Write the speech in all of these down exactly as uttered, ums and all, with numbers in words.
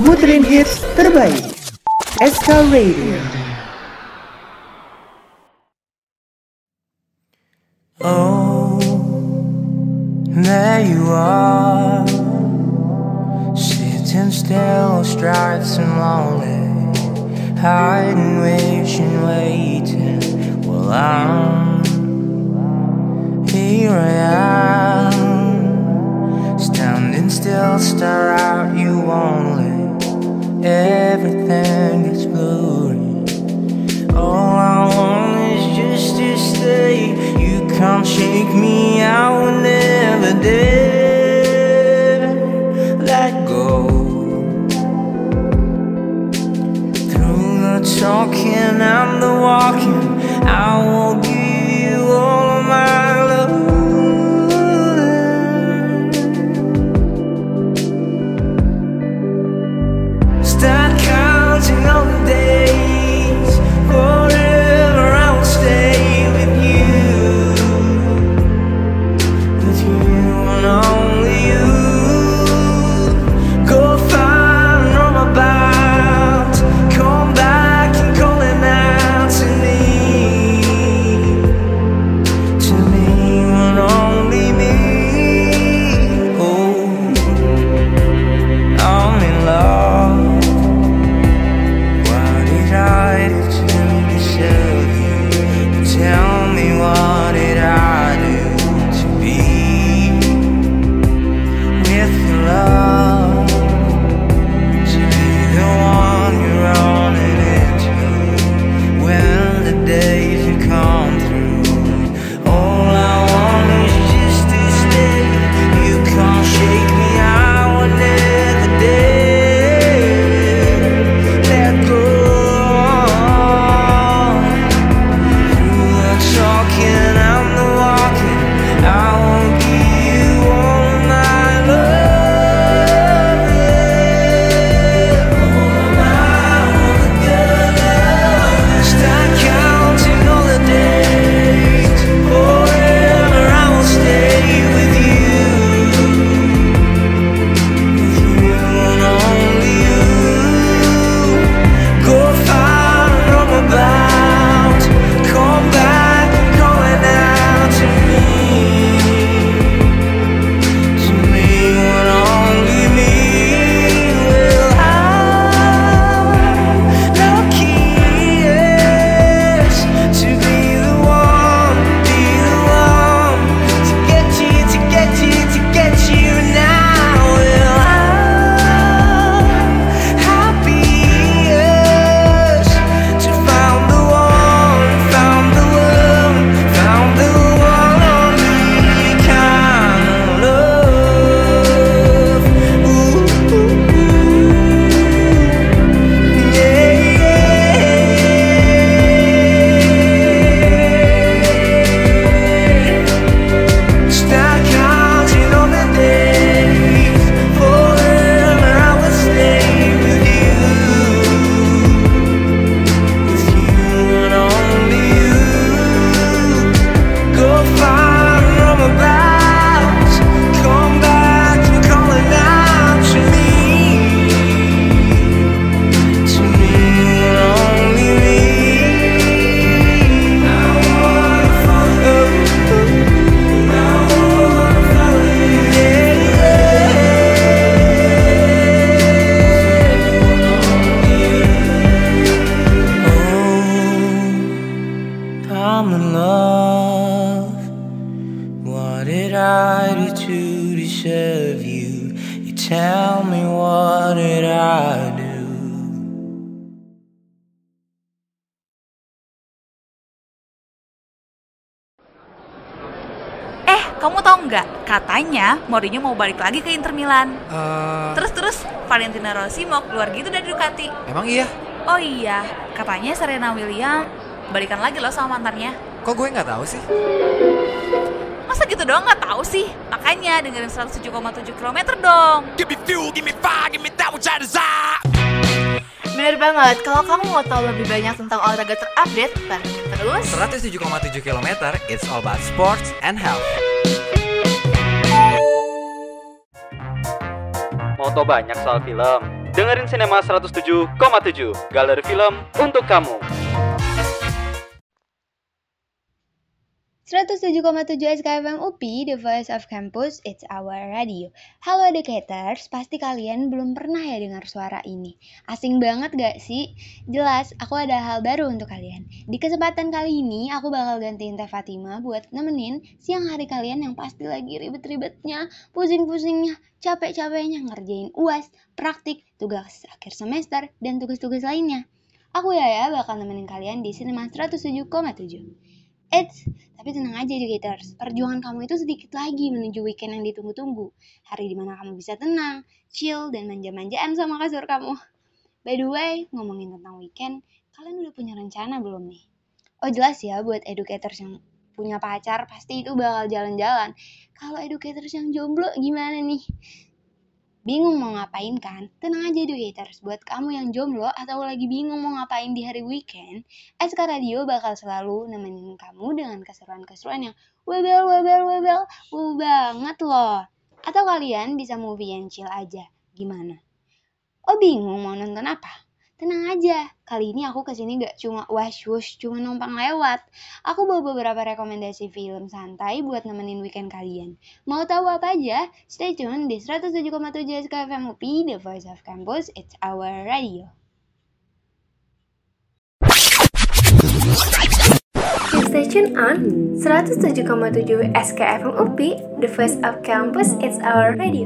muterin hits terbaik. S K Radio. Oh, there you are, sitting still, stripes and lonely, hiding, wishing, waiting. Well, I'm here. I am standing still, stare at you only. Everything is blurry. All I want is just to stay. You can't shake me, I will never dare let go. Through the talking and the walking, I will give you all of my love. Start counting all the days. Forever I will stay with you, with you and only you. Go far and roam about, come back and call it out to me, to me and only me. Oh, I'm in love. What did I do to deserve you? Tell me, what did I do to be with your love? To be the one you're running into when the days you come through. All I want is just to stay. You can't shake me, I will never dare let go. Through the talking and the walking, I will give you all my love, yeah. All of my, all the good love. Start counting all the days. Forever I will stay with you, with you and only you. Go far and roam about, come back and call it out to me, to me and only me. Well, how lucky yes to be the one, be the one to get you, to get you, to get you now. Well, how happy yes to found the one, found the one, found the one only kind of love. Ooh, yeah, yeah. Start counting on the days. Forever I will stay with you, with you and only you. Go far and roam about, come back and call it out to me, to me and only me. I wanna follow you, I wanna follow you, yeah, yeah. Oh, I'm in love. What did I do to deserve you? You tell me, what did I do? Eh, kamu tahu nggak? Katanya Mourinho mau balik lagi ke Inter Milan. Eh, Terus-terus Valentino Rossi mau keluar gitu dari Ducati. emang iya? Oh iya, katanya Serena Williams balikan lagi loh sama mantannya. Kok gue nggak tahu sih? Masa gitu doang nggak tahu sih? Makanya dengerin seratus tujuh koma tujuh kilometer dong. Give me fuel, give me fire, give me that which I desire. Bener banget, kalau kamu mau tahu lebih banyak tentang olahraga terupdate, pantengin terus seratus tujuh koma tujuh kilometer, it's all about sports and health. Mau tau banyak soal film? Dengerin Cinema seratus tujuh koma tujuh, galeri film untuk kamu. seratus tujuh koma tujuh S K F M U P, The Voice of Campus, It's Our Radio. Halo educators, pasti kalian belum pernah ya dengar suara ini. Asing banget gak sih? Jelas, aku ada hal baru untuk kalian. Di kesempatan kali ini, aku bakal gantiin Teh Fatima buat nemenin siang hari kalian yang pasti lagi ribet-ribetnya, pusing-pusingnya, capek-capeknya ngerjain U A S, praktik, tugas akhir semester, dan tugas-tugas lainnya. Aku Yaya bakal nemenin kalian di Cinema seratus tujuh koma tujuh. Eits, tapi tenang aja educators, perjuangan kamu itu sedikit lagi menuju weekend yang ditunggu-tunggu. Hari dimana kamu bisa tenang, chill, dan manja-manjaan sama kasur kamu. By the way, ngomongin tentang weekend, kalian udah punya rencana belum nih? Oh jelas ya, buat educators yang punya pacar, pasti itu bakal jalan-jalan. Kalau educators yang jomblo gimana nih? Bingung mau ngapain kan? Tenang aja educators, buat kamu yang jomblo atau lagi bingung mau ngapain di hari weekend, S K Radio bakal selalu nemenin kamu dengan keseruan-keseruan yang webel, webel, webel, wow banget loh. Atau kalian bisa movie and chill aja, gimana? Oh bingung mau nonton apa? Tenang aja, kali ini aku kesini gak cuma wash-wush, cuma numpang lewat. Aku bawa beberapa rekomendasi film santai buat nemenin weekend kalian. Mau tahu apa aja? Stay tune di seratus tujuh koma tujuh S K F M U P, The Voice of Campus, It's Our Radio. Stay tune on seratus tujuh koma tujuh S K F M U P, The Voice of Campus, It's Our Radio.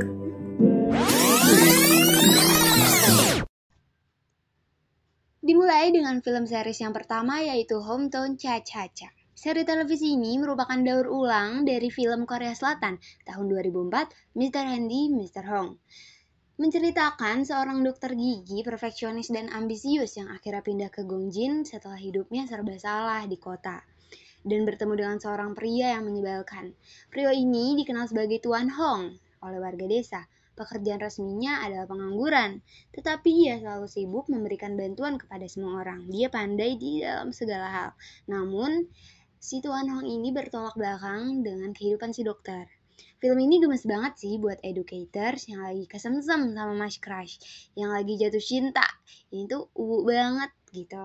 Dimulai dengan film series yang pertama yaitu Hometown Cha-Cha-Cha. Seri televisi ini merupakan daur ulang dari film Korea Selatan tahun dua ribu empat, mister Handy, mister Hong. Menceritakan seorang dokter gigi perfeksionis dan ambisius yang akhirnya pindah ke Gongjin setelah hidupnya serba salah di kota. Dan bertemu dengan seorang pria yang menyebalkan. Pria ini dikenal sebagai Tuan Hong oleh warga desa. Pekerjaan resminya adalah pengangguran, tetapi ia selalu sibuk memberikan bantuan kepada semua orang. Dia pandai di dalam segala hal. Namun, si Tuan Hong ini bertolak belakang dengan kehidupan si dokter. Film ini gemes banget sih buat educators yang lagi kesemsem sama Mas Crush, yang lagi jatuh cinta. Ini tuh uwu banget gitu.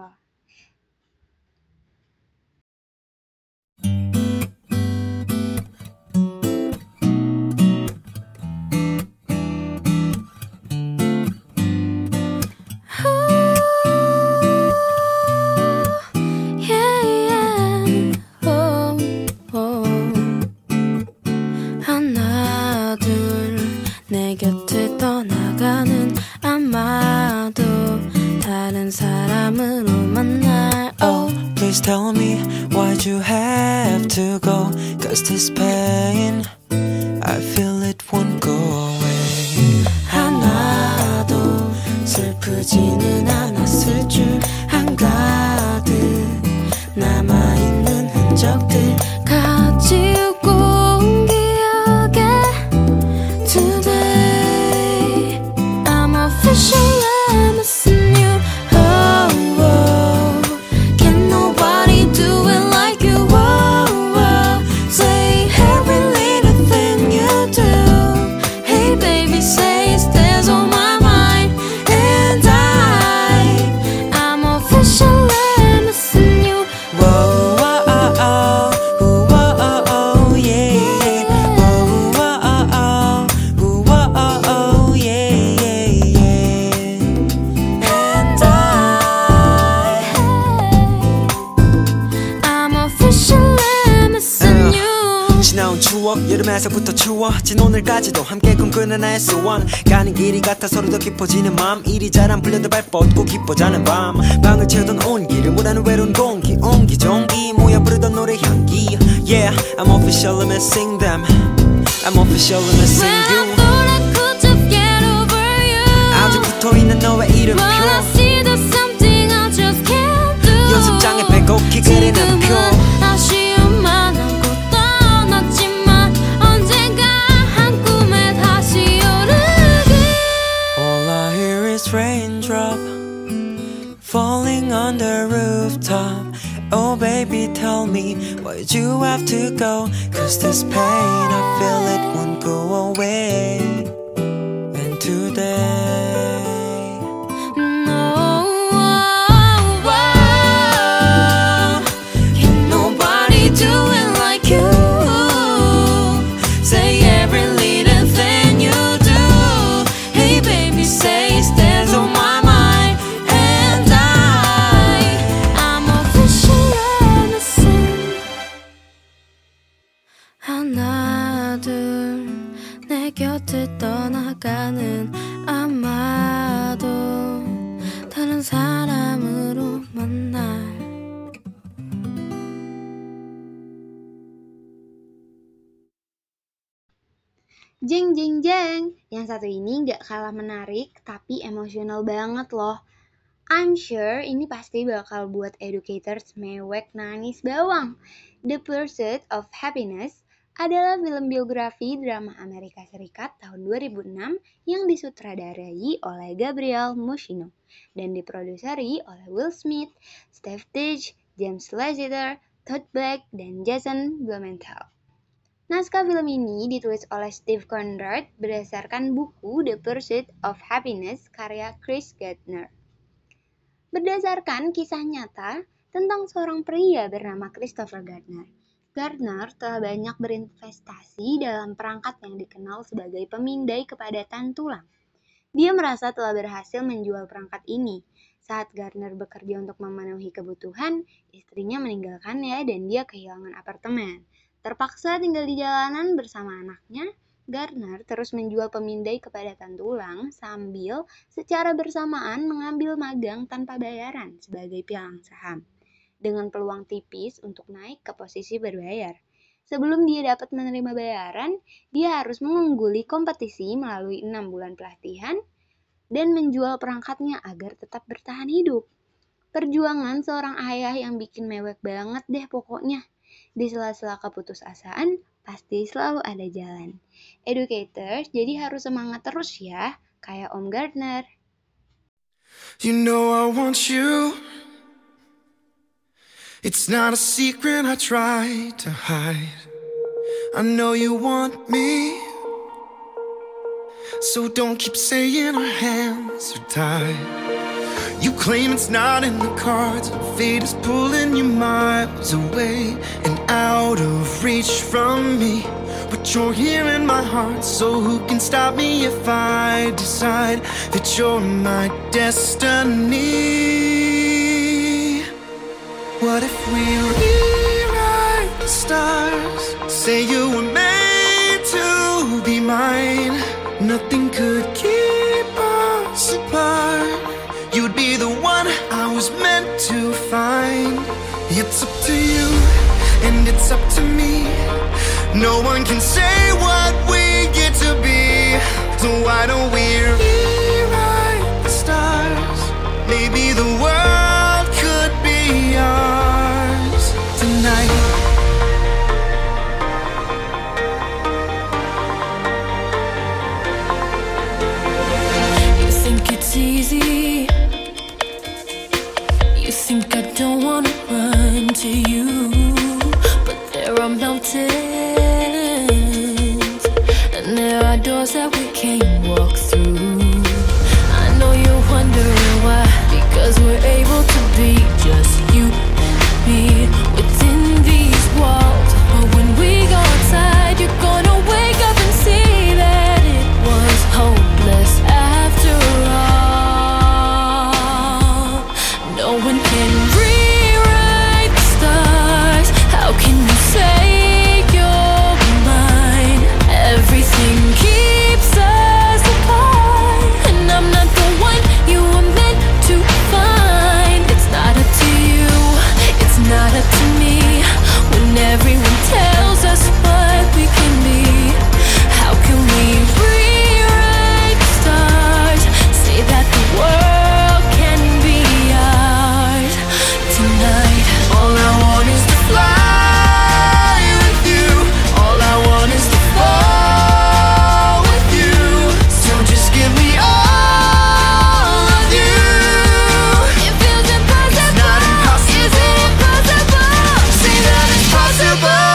Please tell me why'd you have to go? Cause this pain, I feel it won't go away. 하나도 슬프지는 않았을 줄 한가득 남아있는 흔적들 가지고 온 기억에 Today I'm officially missing you. 여름에서부터 추워진 오늘까지도 함께 꿈꾸는 에스 원 가는 길이 같아 서로 더 깊어지는 맘 일이 잘 안 풀려도 발 뻗고 기뻐자는 밤 방을 채우던 온기를 몰아는 외로운 공기 옹기종기 모여 부르던 노래 향기 Yeah, I'm officially missing them I'm officially missing you When I thought I could just get over you 아직 붙어있는 너의 이름표 When I see there's something I just can't do 연습장에 빼곡히 그리는 표 아쉬움만 하고 떠났지만 언젠가 한 꿈에 다시 오르기 All I hear is raindrop falling on the rooftop Oh baby tell me why'd you have to go Cause this pain I feel it won't go away And today Yang satu ini gak kalah menarik, tapi emosional banget loh. I'm sure ini pasti bakal buat educators mewek nangis bawang. The Pursuit of Happiness adalah film biografi drama Amerika Serikat tahun dua ribu enam yang disutradarai oleh Gabriel Muschino dan diproduseri oleh Will Smith, Steve Ditch, James Lasseter, Todd Black, dan Jason Blumenthal. Naskah film ini ditulis oleh Steve Conrad berdasarkan buku The Pursuit of Happiness karya Chris Gardner. Berdasarkan kisah nyata tentang seorang pria bernama Christopher Gardner. Gardner telah banyak berinvestasi dalam perangkat yang dikenal sebagai pemindai kepadatan tulang. Dia merasa telah berhasil menjual perangkat ini. Saat Gardner bekerja untuk memenuhi kebutuhan, istrinya meninggalkannya dan dia kehilangan apartemen. Terpaksa tinggal di jalanan bersama anaknya, Gardner terus menjual pemindai kepadatan tulang sambil secara bersamaan mengambil magang tanpa bayaran sebagai pialang saham, dengan peluang tipis untuk naik ke posisi berbayar. Sebelum dia dapat menerima bayaran, dia harus mengungguli kompetisi melalui enam bulan pelatihan dan menjual perangkatnya agar tetap bertahan hidup. Perjuangan seorang ayah yang bikin mewek banget deh pokoknya. Di sela-sela keputusasaan, pasti selalu ada jalan. Educators jadi harus semangat terus ya, kayak Om Gardner. You know I want you. It's not a secret I try to hide. I know you want me. So don't keep saying our hands are tied. You claim it's not in the cards. Fate is pulling you miles away and out of reach from me. But you're here in my heart, so who can stop me if I decide that you're my destiny? What if we rewrite the stars? Say you were made to be mine. Nothing could keep us apart. You'd be the one I was meant to find. It's up to you, and it's up to me. No one can say what we get to be. So why don't we rewrite the stars? Maybe the world could be ours tonight. You think it's easy? You think I don't wanna run to you, but there are mountains and there are doors that we can't walk through. I know you're wondering why, because we're able to be just you and me within these walls. But when we go outside, you're gonna wake up and see that it was hopeless after all. No one can rewrite the stars. How can you say you're mine? Everything keeps us apart, and I'm not the one you were meant to find. It's not up to you, it's not up to me. When everyone tells us what we can be, how can we rewrite the stars? Say that the world can be ours tonight. All I want is to fly with you. All I want is to fall with you. So just give me all of you. It feels impossible. It's not impossible. Is it impossible? Say that it's possible.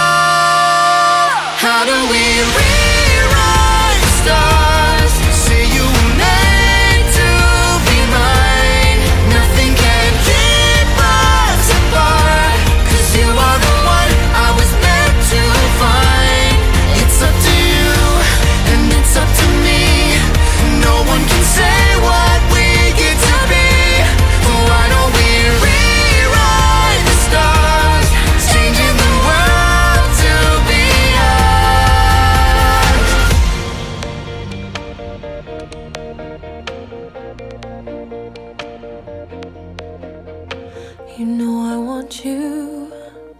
How do we rewrite the stars? Say you were made to be mine. Nothing can keep us apart, 'cause you are the one I was meant to find. It's up to you, and it's up to me. No one can say what we get to be. Why don't we rewrite the stars? Changing the world to be ours. You know I want you.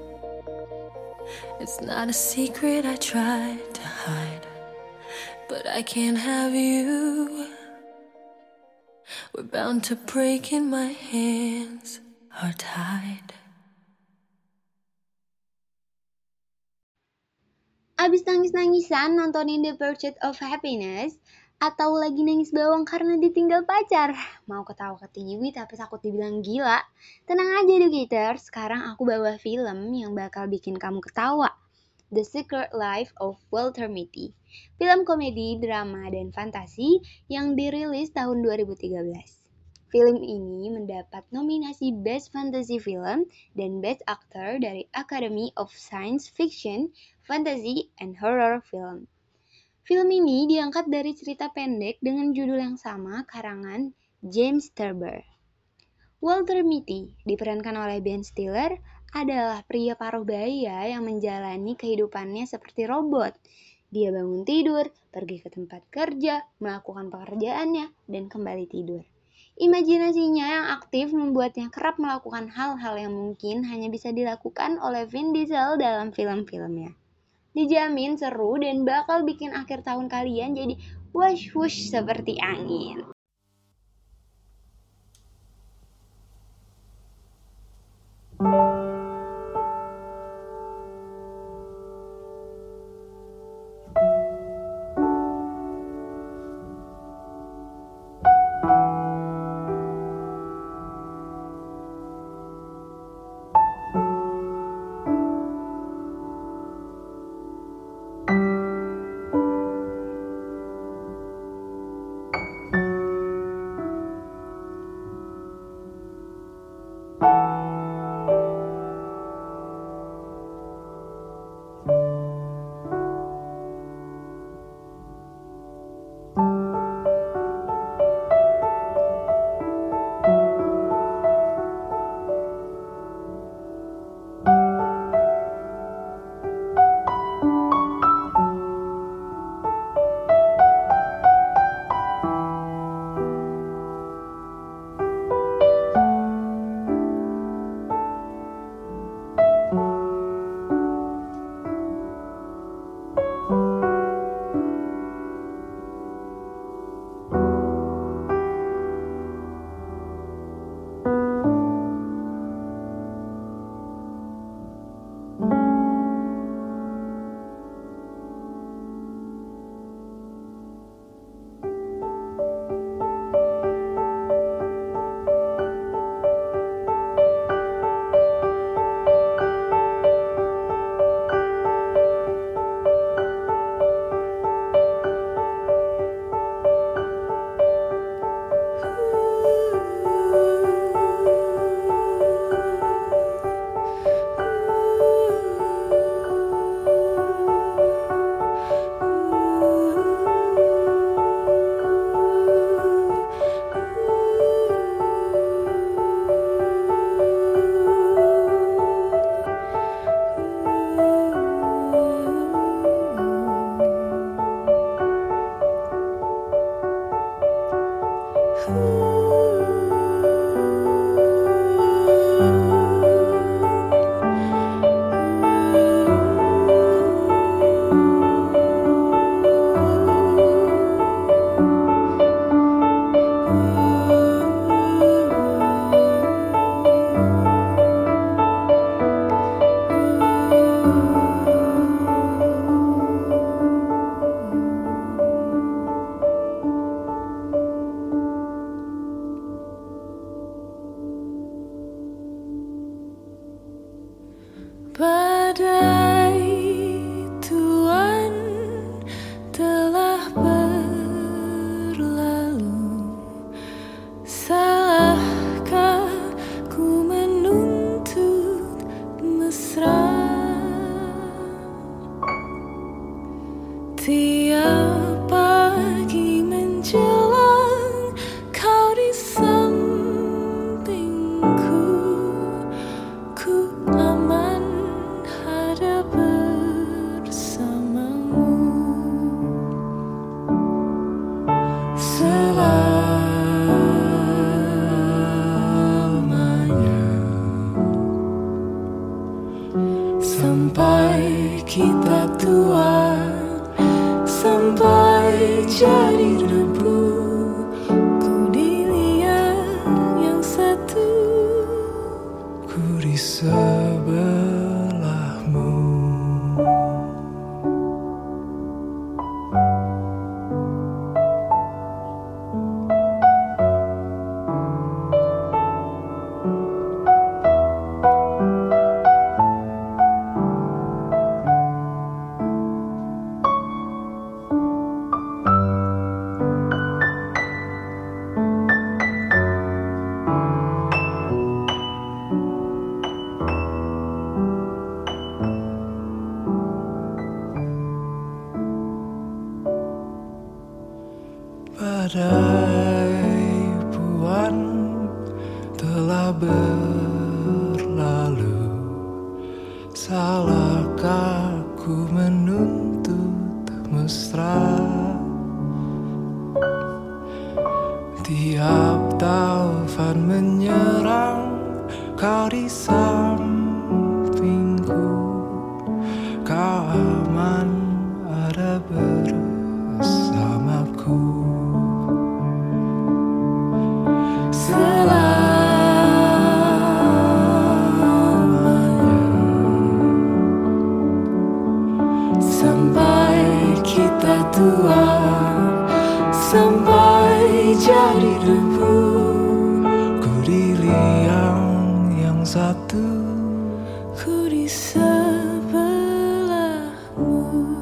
It's not a secret I tried to hide, but I can't have you. We're bound to break and my hands are tied. Abis nangis-nangisan nontonin The Pursuit of Happiness, atau lagi nangis bawang karena ditinggal pacar? Mau ketawa ke T V tapi takut dibilang gila? Tenang aja educator, sekarang aku bawa film yang bakal bikin kamu ketawa. The Secret Life of Walter Mitty. Film komedi, drama, dan fantasi yang dirilis tahun dua ribu tiga belas. Film ini mendapat nominasi Best Fantasy Film dan Best Actor dari Academy of Science Fiction, Fantasy, and Horror Film. Film ini diangkat dari cerita pendek dengan judul yang sama karangan James Thurber. Walter Mitty diperankan oleh Ben Stiller adalah pria paruh baya yang menjalani kehidupannya seperti robot. Dia bangun tidur, pergi ke tempat kerja, melakukan pekerjaannya, dan kembali tidur. Imajinasinya yang aktif membuatnya kerap melakukan hal-hal yang mungkin hanya bisa dilakukan oleh Vin Diesel dalam film-filmnya. Dijamin seru dan bakal bikin akhir tahun kalian jadi wush-wush seperti angin. tahun telah berlalu. Salahkah ku menuntut mesra? Tiap taufan menyerang, kau di sampingku. Kau aman ada bersamaku. Selamanya, sampai kita tua, sampai jadi debu. Ku di liang yang satu, ku di sebelahmu.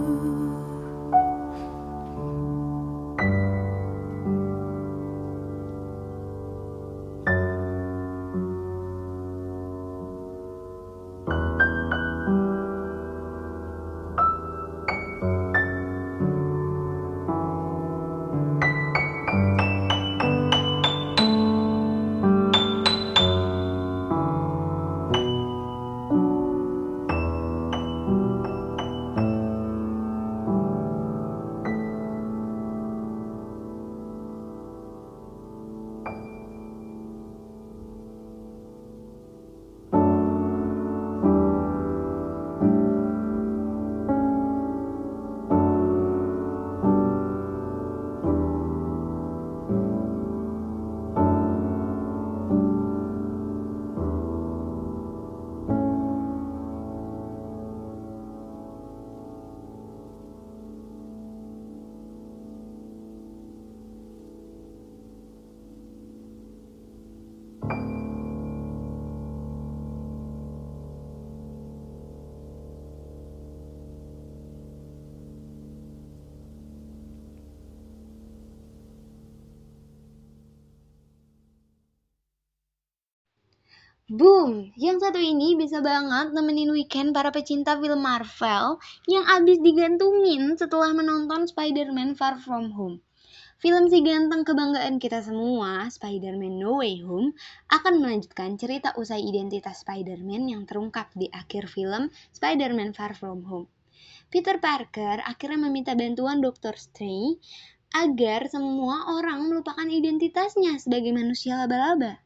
Boom! Yang satu ini bisa banget nemenin weekend para pecinta film Marvel yang abis digantungin setelah menonton Spider-Man Far From Home. Film si ganteng kebanggaan kita semua, Spider-Man No Way Home, akan melanjutkan cerita usai identitas Spider-Man yang terungkap di akhir film Spider-Man Far From Home. Peter Parker akhirnya meminta bantuan Doctor Strange agar semua orang melupakan identitasnya sebagai manusia laba-laba.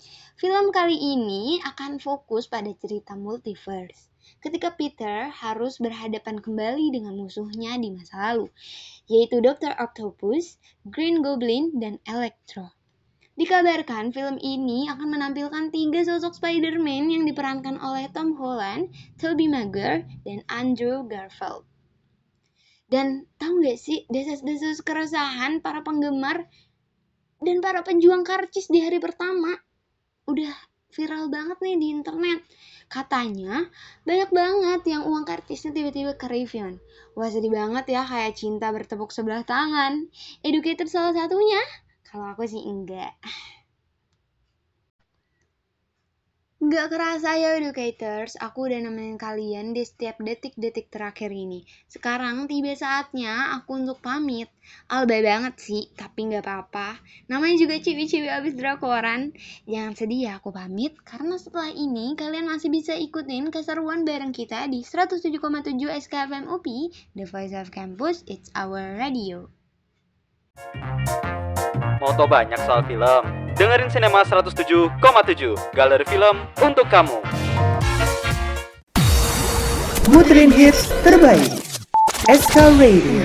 Film kali ini akan fokus pada cerita multiverse, ketika Peter harus berhadapan kembali dengan musuhnya di masa lalu, yaitu Doctor Octopus, Green Goblin, dan Electro. Dikabarkan film ini akan menampilkan tiga sosok Spider-Man yang diperankan oleh Tom Holland, Tobey Maguire, dan Andrew Garfield. Dan tahu gak sih desas-desus keresahan para penggemar dan para pejuang karcis di hari pertama? Udah viral banget nih di internet. Katanya banyak banget yang uang kartisnya tiba-tiba ke Rivian. Wah sedih banget ya, kayak cinta bertepuk sebelah tangan. Educator salah satunya? Kalau aku sih enggak. Nggak kerasa ya Educators, aku udah nemenin kalian di setiap detik-detik terakhir ini. Sekarang tiba saatnya aku untuk pamit. Alba banget sih, tapi nggak apa-apa. Namanya juga ciwi-ciwi abis drakoran. Jangan sedih ya aku pamit, karena setelah ini kalian masih bisa ikutin keseruan bareng kita di seratus tujuh koma tujuh S K F M U P, The Voice of Campus, It's Our Radio. Mau tau banyak soal film? Dengerin Cinema seratus tujuh koma tujuh, galeri film untuk kamu. Muterin hits terbaik S K Radio.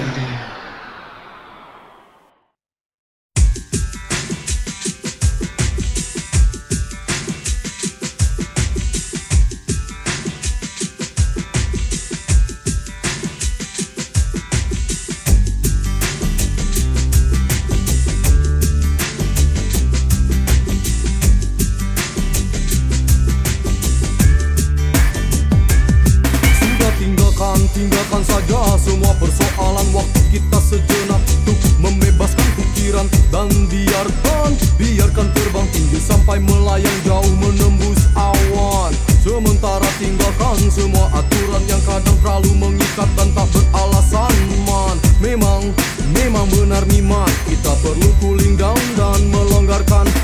Tinggalkan saja semua persoalan, waktu kita sejenak untuk membebaskan pikiran. Dan biarkan, biarkan terbang tinggi sampai melayang jauh menembus awan. Sementara tinggalkan semua aturan yang kadang terlalu mengikat dan tak beralasan man. Memang, memang benar nimat, kita perlu cooling down dan melonggarkan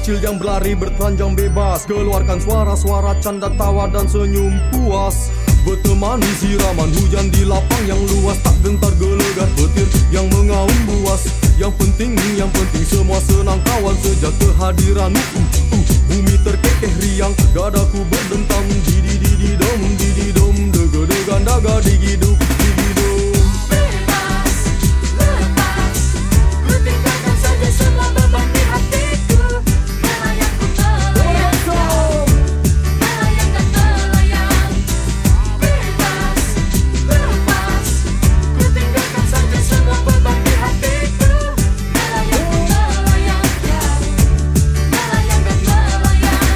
kecil yang berlari bertelanjang bebas, keluarkan suara-suara canda tawa dan senyum puas. Bertemani siraman hujan di lapang yang luas, tak gentar gelegar petir yang mengaum buas. Yang penting, yang penting semua senang kawan sejak kehadiranmu. uh, uh, Bumi terkekeh riang, dadaku berdentang. Didi didi dom, didi dom, dega degan daga digi duk, digi dom. Bebas, lepas, ku tinggalkan saja semua beban di hatiku. Melayang ku melayang jauh, melayang dan melayang. Bebas, lepas, ku tinggalkan saja semua beban di hatiku. Melayang ku melayang jauh, melayang dan melayang.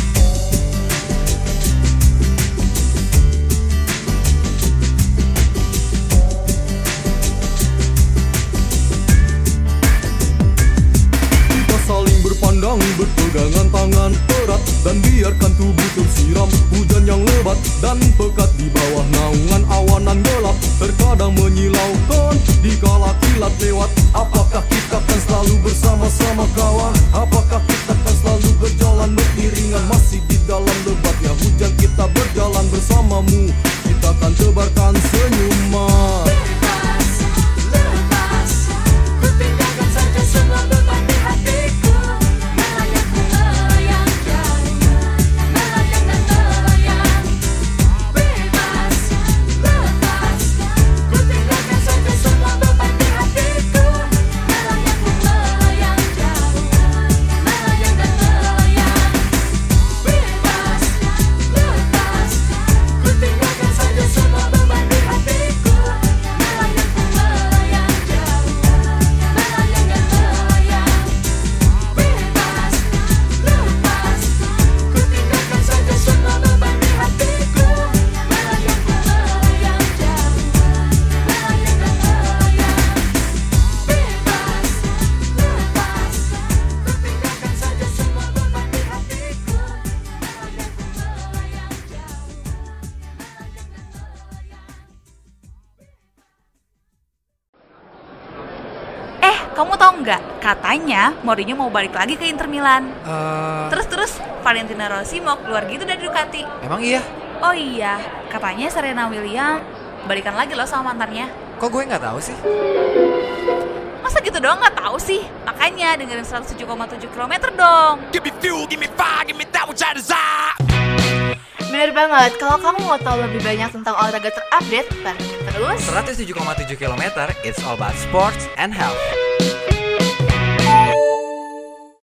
Kita saling berpandang, berpegangan tangan erat, dan biarkan tubuh tersiram hujan yang lebat dan pekat di bawah naungan awanan gelap. Terkadang menyilaukan dikala kilat lewat. Apakah kita akan selalu bersama-sama kawan? Apakah kita akan selalu berjalan beriringan? Masih di dalam lebatnya hujan kita berjalan bersamamu. Kita akan tebarkan senyuman. Bebas, lepas, ku tinggalkan saja semua beban di hatiku. Melayang ku melayang jauh, melayang dan melayang. Bebas, lepas, ku tinggalkan saja semua beban di hatiku. Melayang ku melayang jauh, melayang dan melayang. Bebas, lepas, ku tinggalkan saja semua beban di hatiku. Melayang ku melayang jauh, melayang dan melayang. Bebas, lepas, ku tinggalkan saja semua beban di hatiku. Melayang ku melayang jauh, melayang dan melayang. Bebas, lepas, ku tinggalkan saja semua beban di hatiku. Melayang ku melayang jauh, melayang dan melayang. Eh, kamu tahu nggak? Katanya Mourinho mau balik lagi ke Inter Milan. Eh, Terus-terus Valentino Rossi mau keluar gitu dari Ducati. emang iya? Oh iya, katanya Serena Williams balikan lagi loh sama mantannya. Kok gue nggak tahu sih? Masa gitu doang nggak tahu sih? Makanya dengerin seratus tujuh koma tujuh kilometer dong. Give me fuel, give me fire, give me that which I desire. Bener banget, kalau kamu mau tahu lebih banyak tentang olahraga terupdate, pantengin terus seratus tujuh koma tujuh kilometer, it's all about sports and health.